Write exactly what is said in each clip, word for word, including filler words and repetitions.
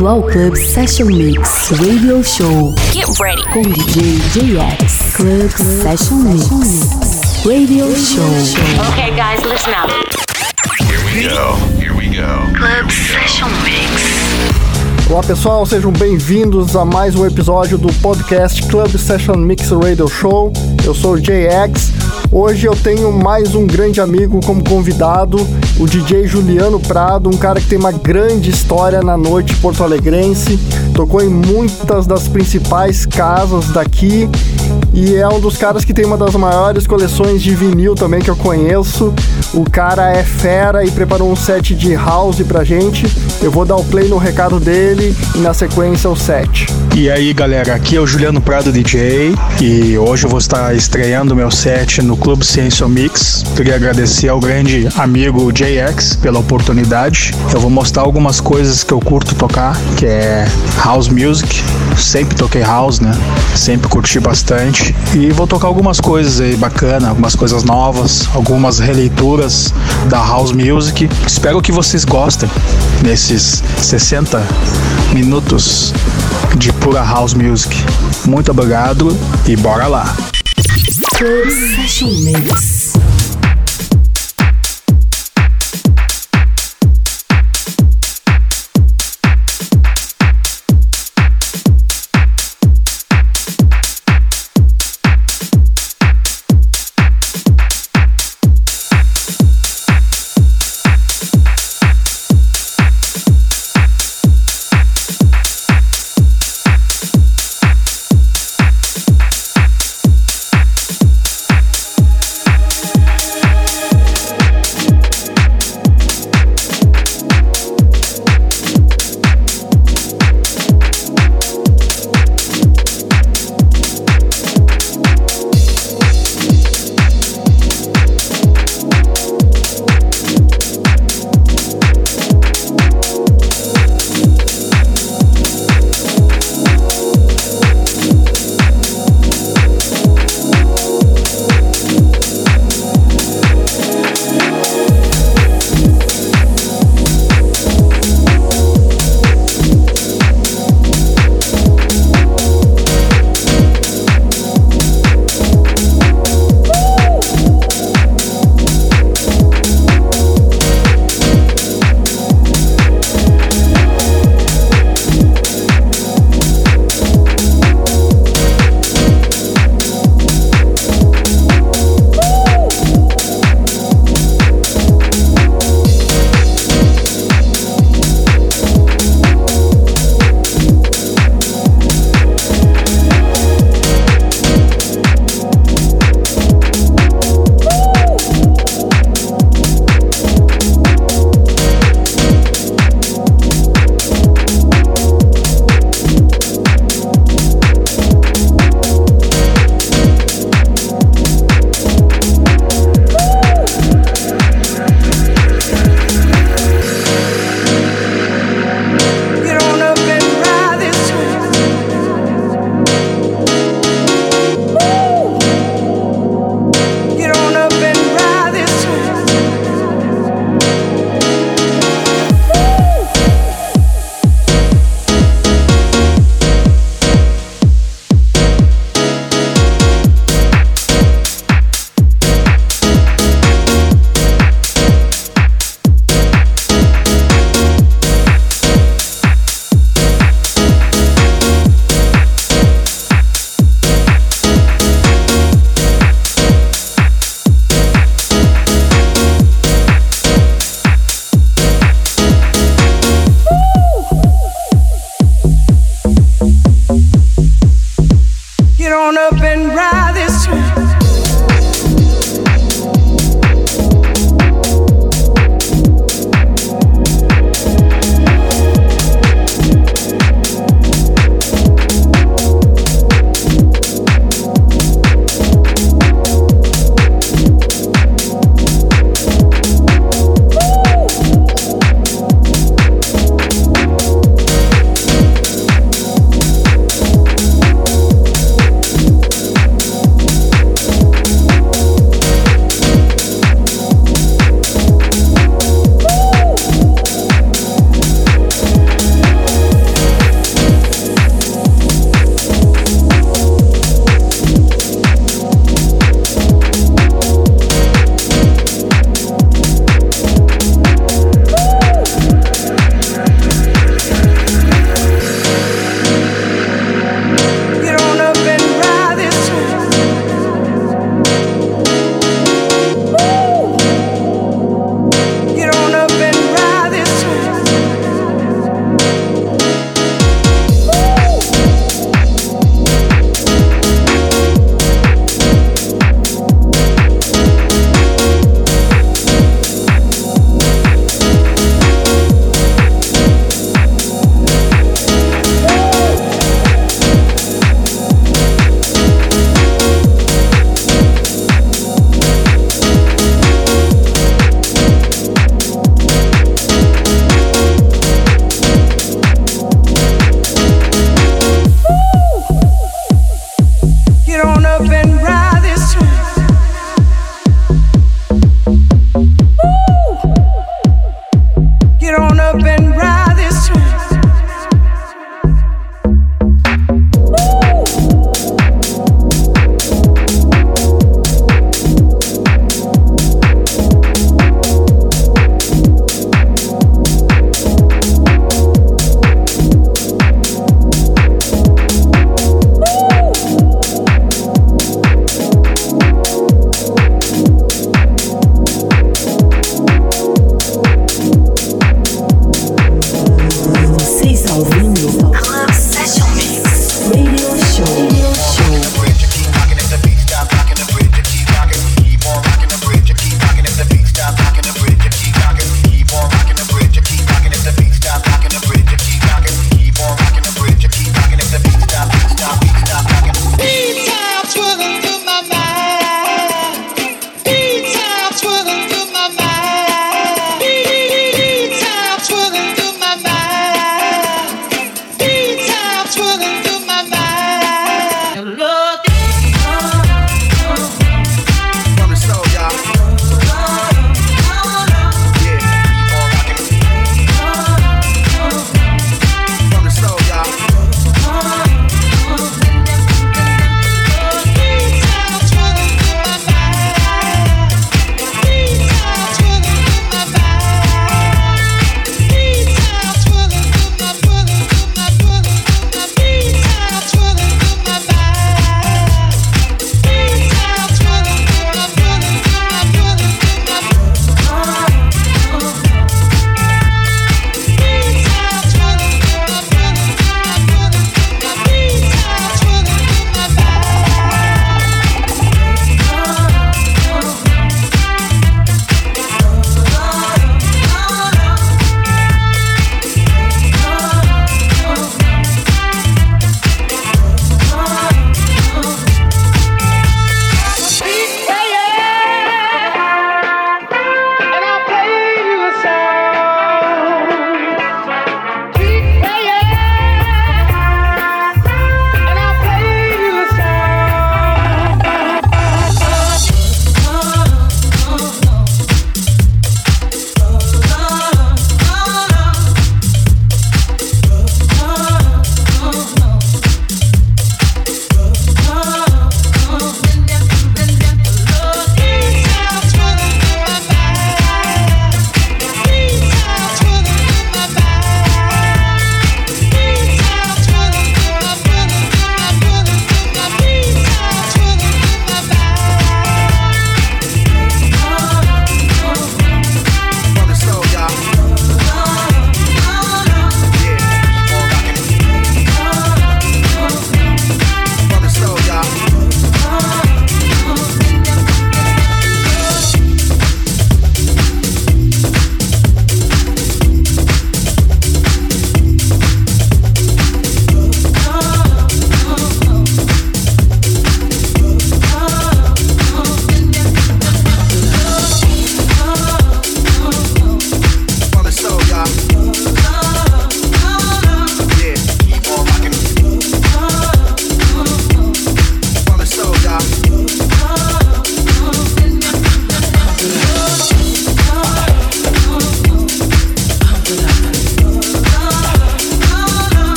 bem-vindo ao Club Session Mix Radio Show. Get ready com D J J X. Club Session Mix Radio Show. Okay, guys, listen up. Here we go. Here we go. Club Session Mix. Olá pessoal, sejam bem-vindos a mais um episódio do podcast Club Session Mix Radio Show. Eu sou o J X. Hoje eu tenho mais um grande amigo como convidado, o D J Juliano Prado, um cara que tem uma grande história na noite porto-alegrense, tocou em muitas das principais casas daqui e é um dos caras que tem uma das maiores coleções de vinil também que eu conheço. O cara é fera e preparou um set de house pra gente. Eu vou dar o play no recado dele e na sequência o set. E aí galera, aqui é o Juliano Prado D J e hoje eu vou estar estreando meu set no Club Session Mix. Queria agradecer ao grande amigo J X pela oportunidade. Eu vou mostrar algumas coisas que eu curto tocar, que é House Music. Sempre toquei House, né? Sempre curti bastante. E vou tocar algumas coisas aí bacanas, algumas coisas novas, algumas releituras da House Music. Espero que vocês gostem nesses sessenta minutos de pura House Music. Muito obrigado e bora lá! Club Session Mix.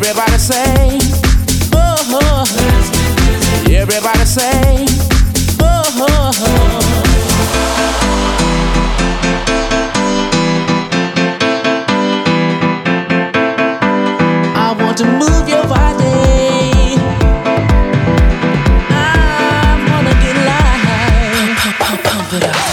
Everybody say, oh, oh. Everybody say, oh, oh, oh. I want to move your body. I wanna get live. Pump, pump it up.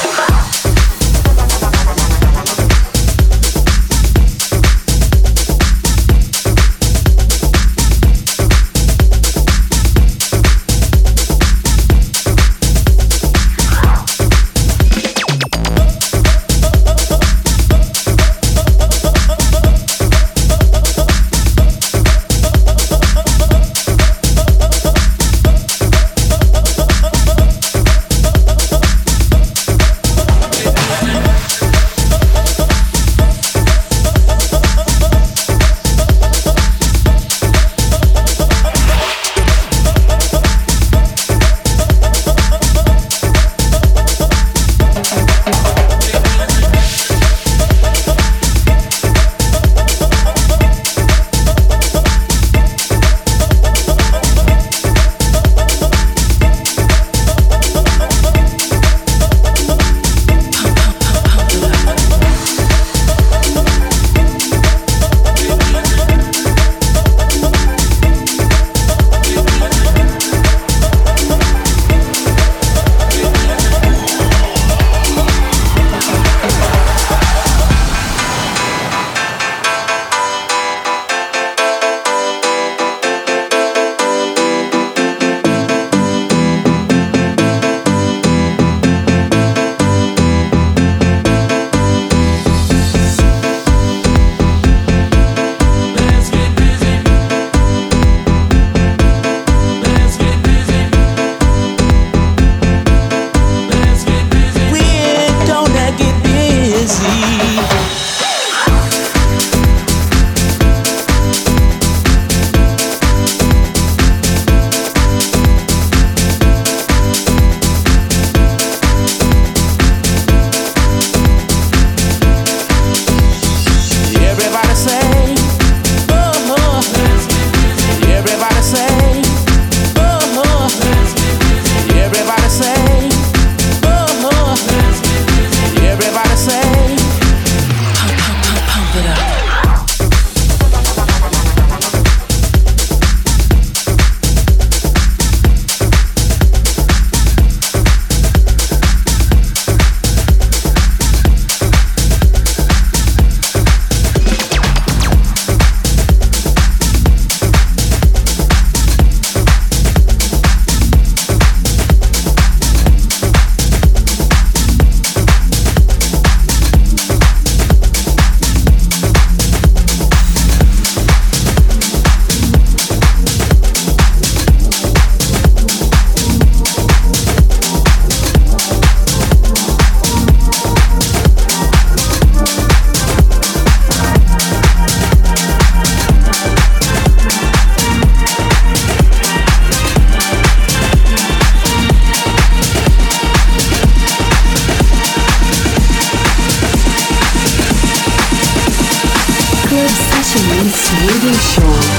Radio Show.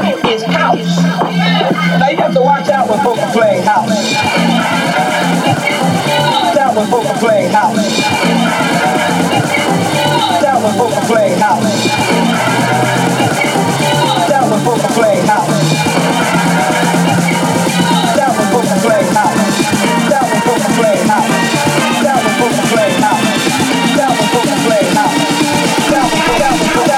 is house. Now you have to watch out when folks are playing house. Watch out when folks are playing house. Watch out when folks are playing house. Watch out when folks are playing house. Watch out when folks are playing house. Watch out when folks are playing house. Watch out when folks are playing house. Watch out when folks are playing house. Watch out when folks are playing house.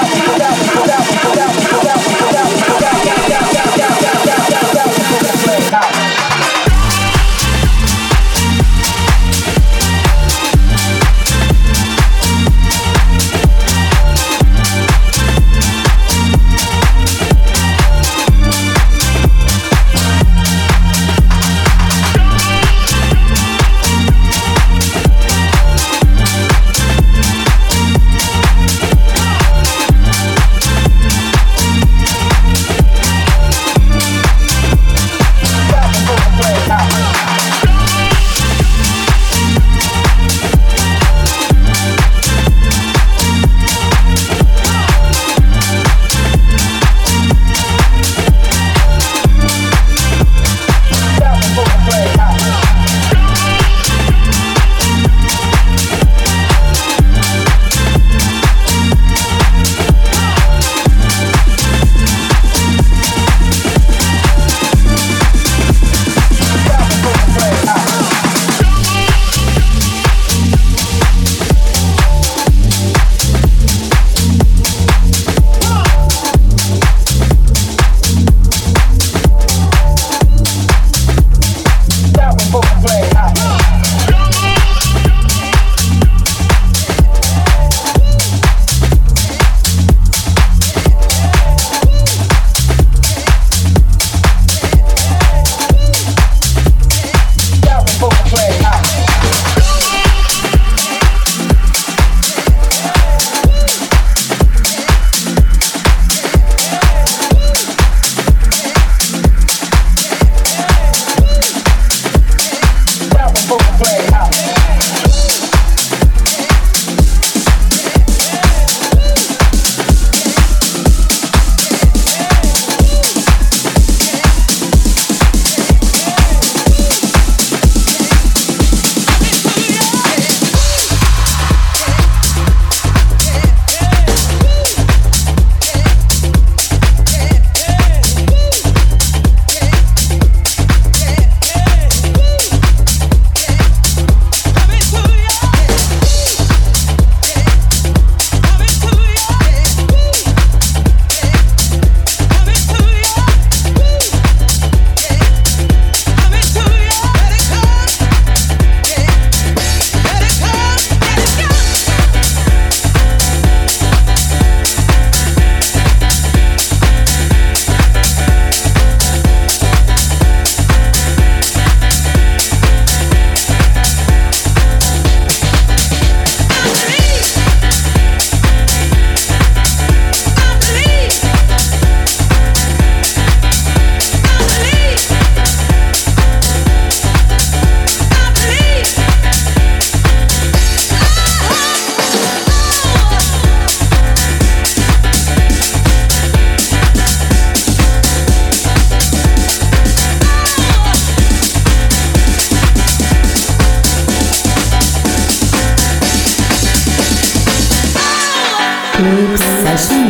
Club Session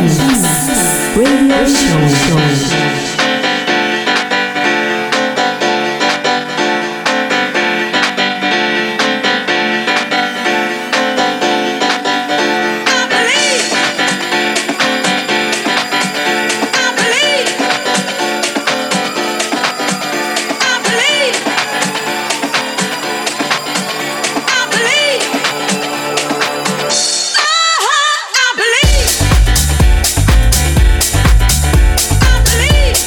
Mix Radio Show. Believe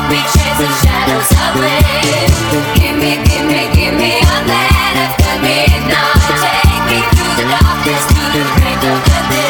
We chase the shadows away. Give me, give me, give me a land after midnight. Take me through the darkness to the break of the day.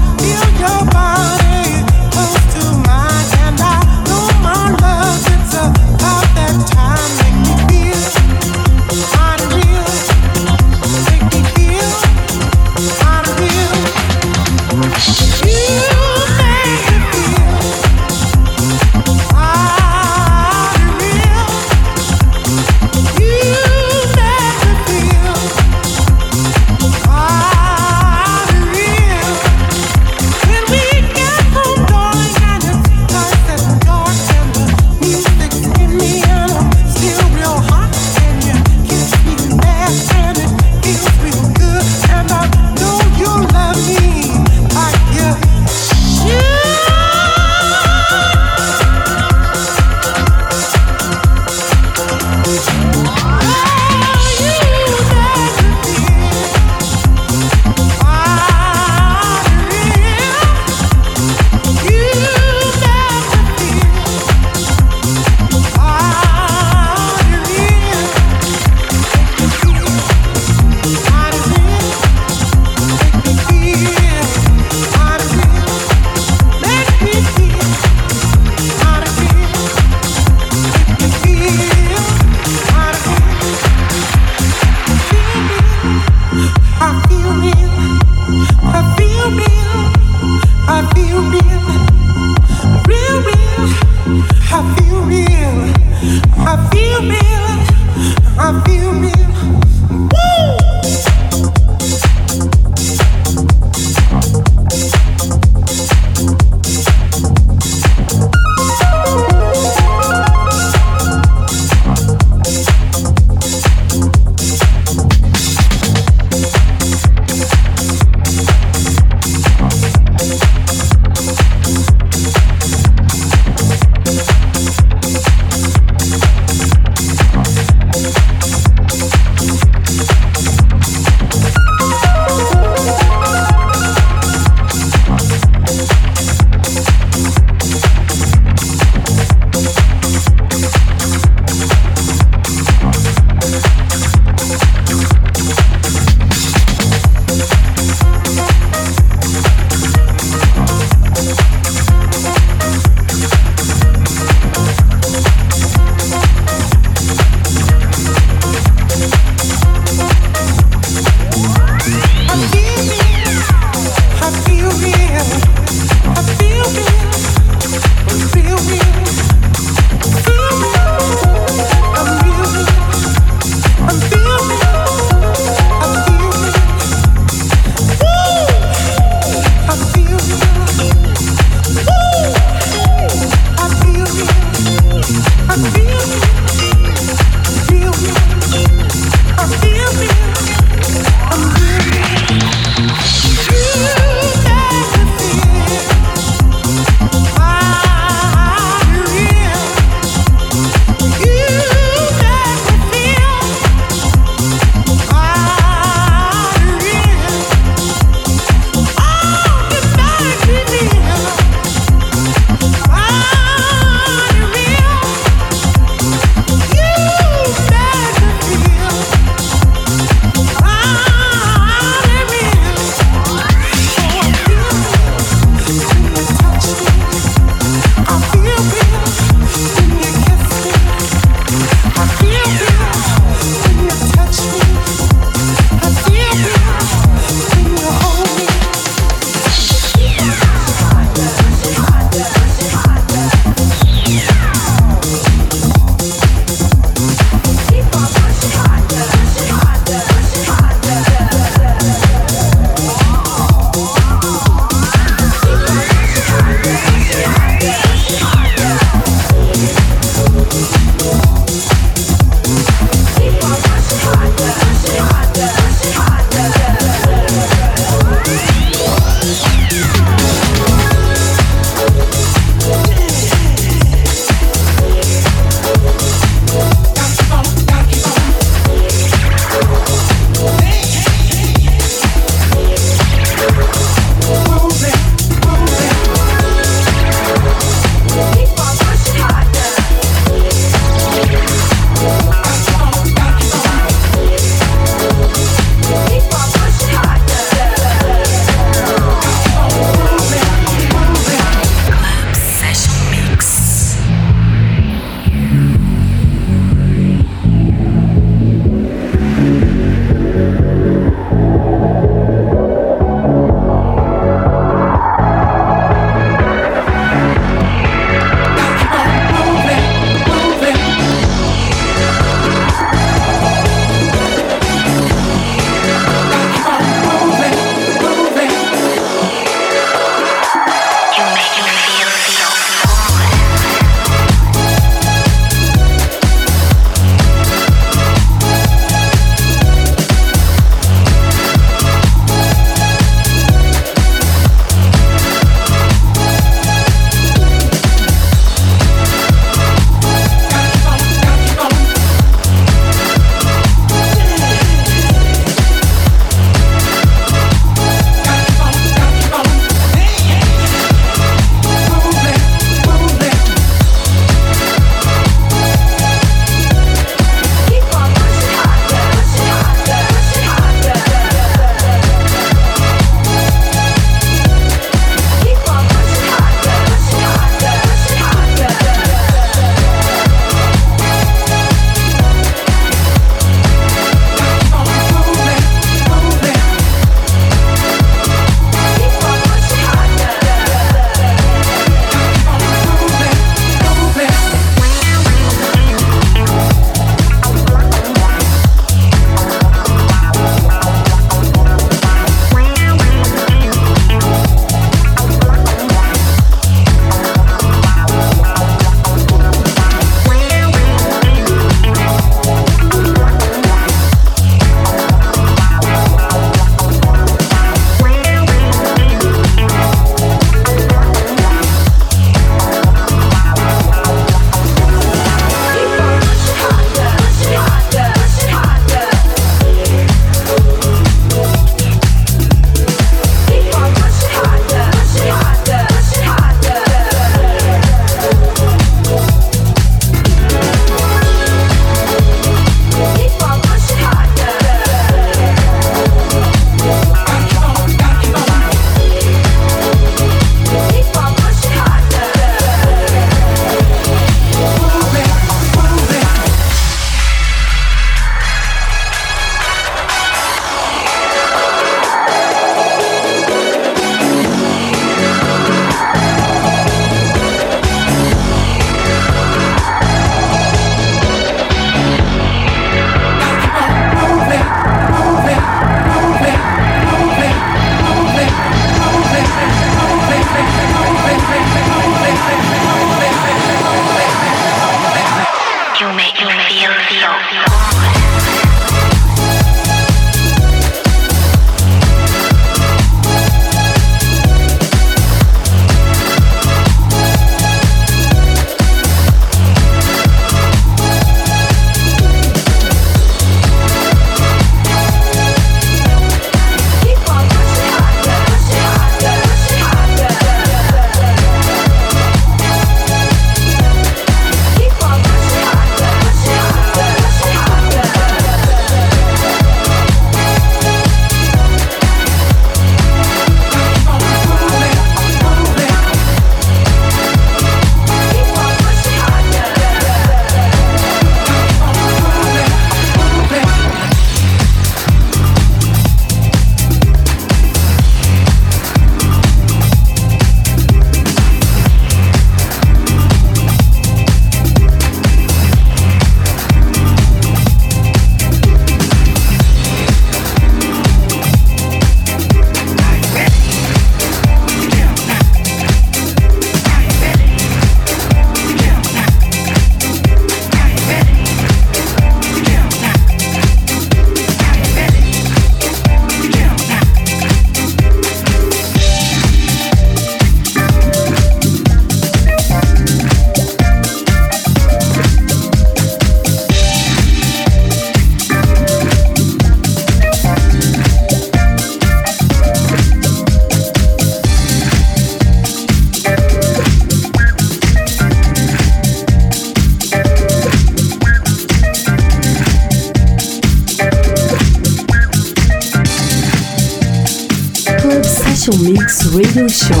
Session Mix Radio Show.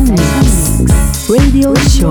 Mix Radio Show.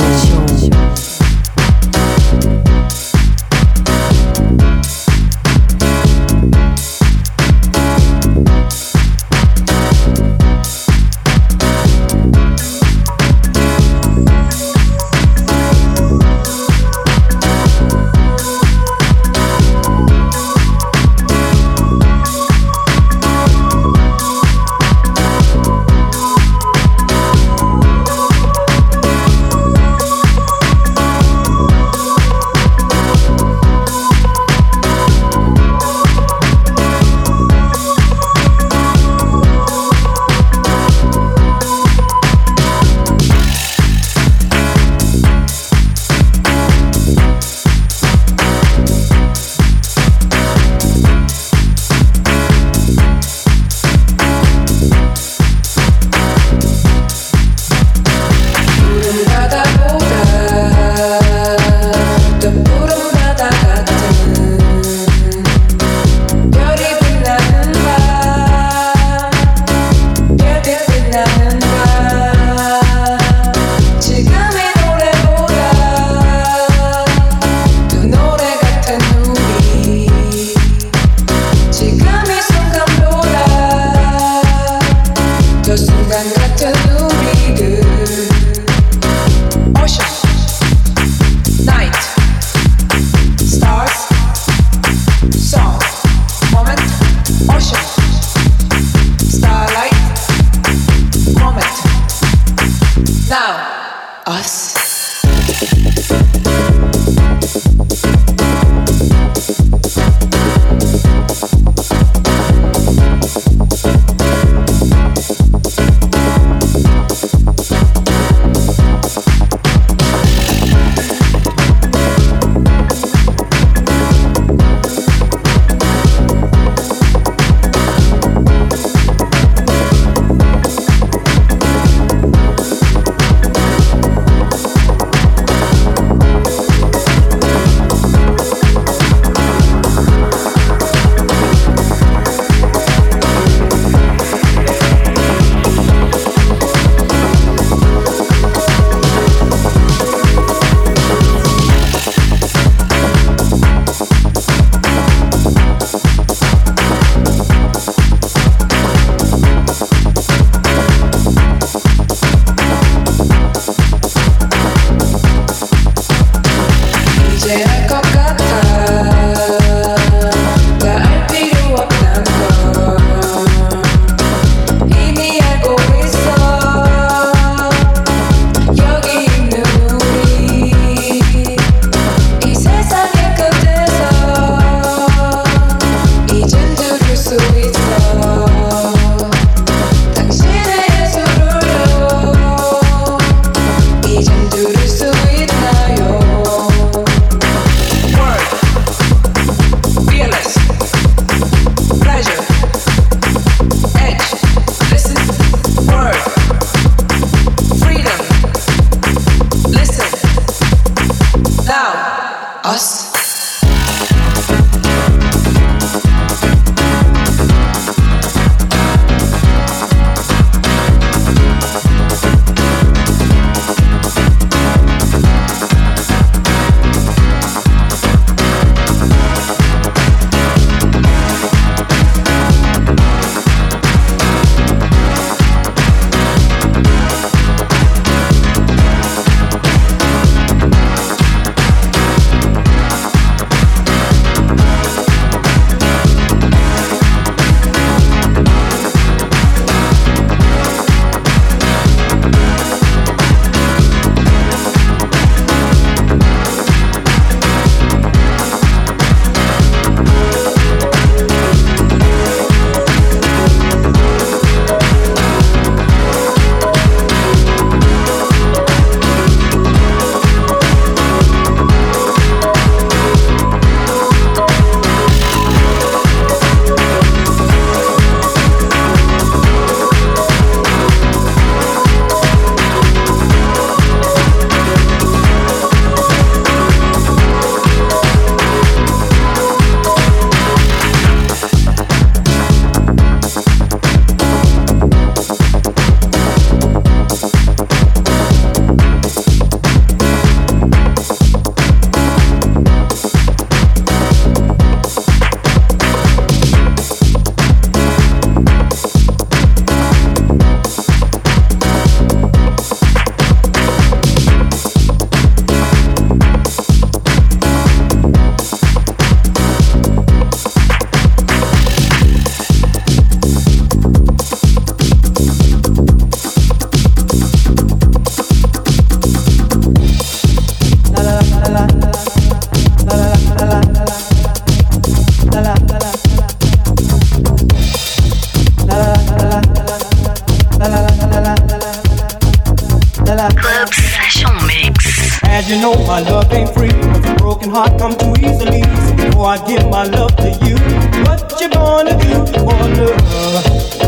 Club Session Mix. As you know, my love ain't free, 'cause a broken heart come too easily. So before I give my love to you, what you gonna do for love?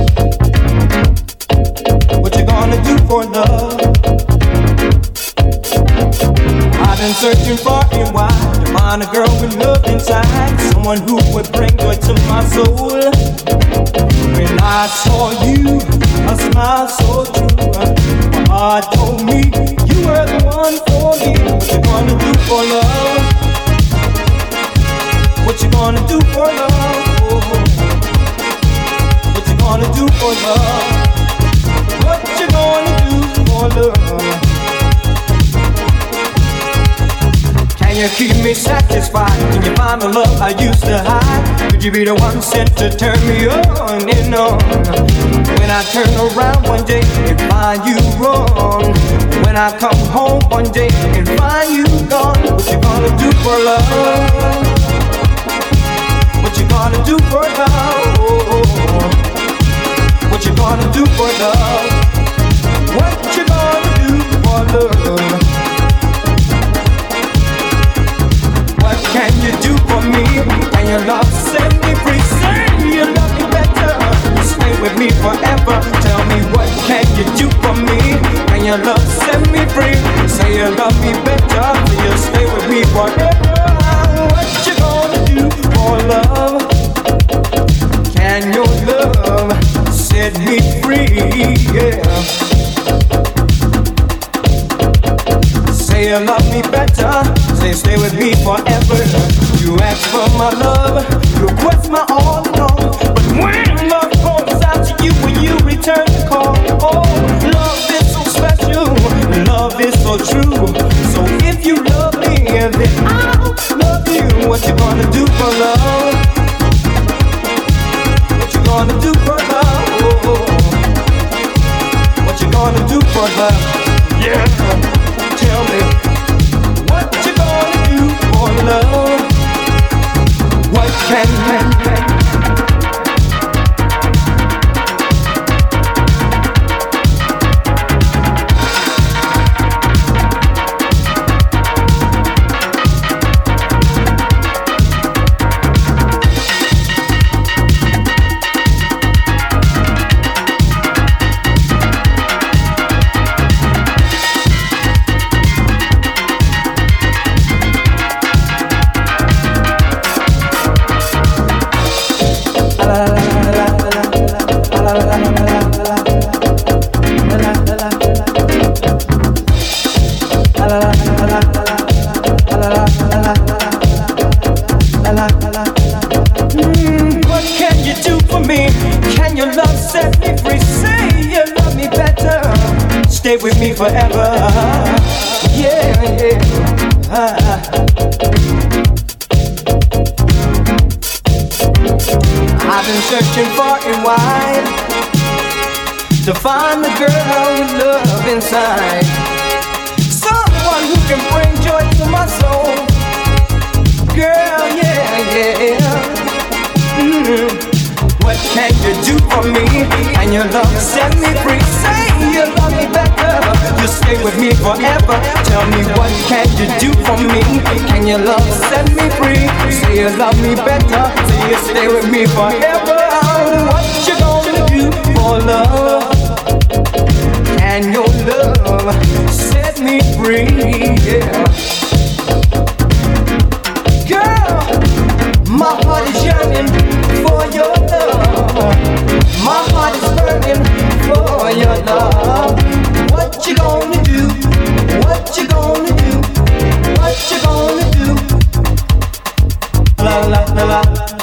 What you gonna do for love? I've been searching far and wide to find a girl with love inside, someone who would bring joy to my soul. When I saw you, a smile so true, my heart told me you were the one for me. What you gonna do for love? What you gonna do for love? Oh, what you gonna do for love? What you gonna do for love? Can you keep me satisfied? Can you find the love I used to hide? Could you be the one sent to turn me on and on? When I turn around one day and find you wrong, when I come home one day and find you gone, what you gonna do for love? What you gonna do for love? What you gonna do for love? What you gonna do for love? What can you do for me? Can your love set me free? Say you love me better, stay with me forever. Tell me, what can you do for me? Can your love set me free? Say you love me better, you stay with me forever. What you gonna do for love? Can your love set me free? Yeah. Say you love me better, say stay with me forever. You ask for my love, you request my all in all. But when love calls out to you, when you return the call, oh, love is so special, love is so true. So if you love me, then I'll love you. What you gonna do for love? What you gonna do for love? Oh, what you gonna do for love? Yeah. Tell me, what you gonna do for love? What can you stay with me forever? Yeah, yeah. Ah. I've been searching far and wide to find the girl with love inside, someone who can bring joy to my soul. Girl, yeah, yeah. Mm-hmm. What can you do for me? And your love set me free. Say you love me better, you stay with me forever. Tell me, what can you do for me? Can your love set me free? Say you love me better, say you stay with me forever. What you gonna do for love? Can your love set me free? Yeah. Girl, my heart is yearning for your love. My heart is burning for your love. What you gonna do? What you gonna do? What you gonna do? La la la la.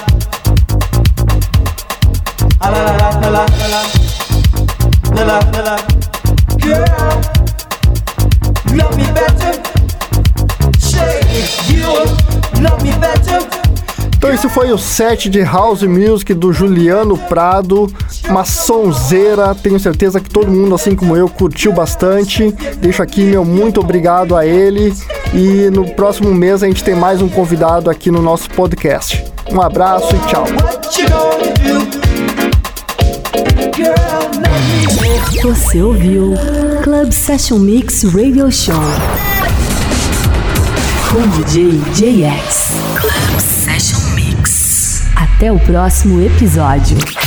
La la la la la la. La la la la. Girl, love me better. Say you love me better. Então esse foi o set de House Music do Juliano Prado, uma sonzeira, tenho certeza que todo mundo, assim como eu, curtiu bastante. Deixo aqui meu muito obrigado a ele e no próximo mês a gente tem mais um convidado aqui no nosso podcast. Um abraço e tchau. girl, let me. Você ouviu Club Session Mix Radio Show com D J J X. Club Session Mix. Até o próximo episódio.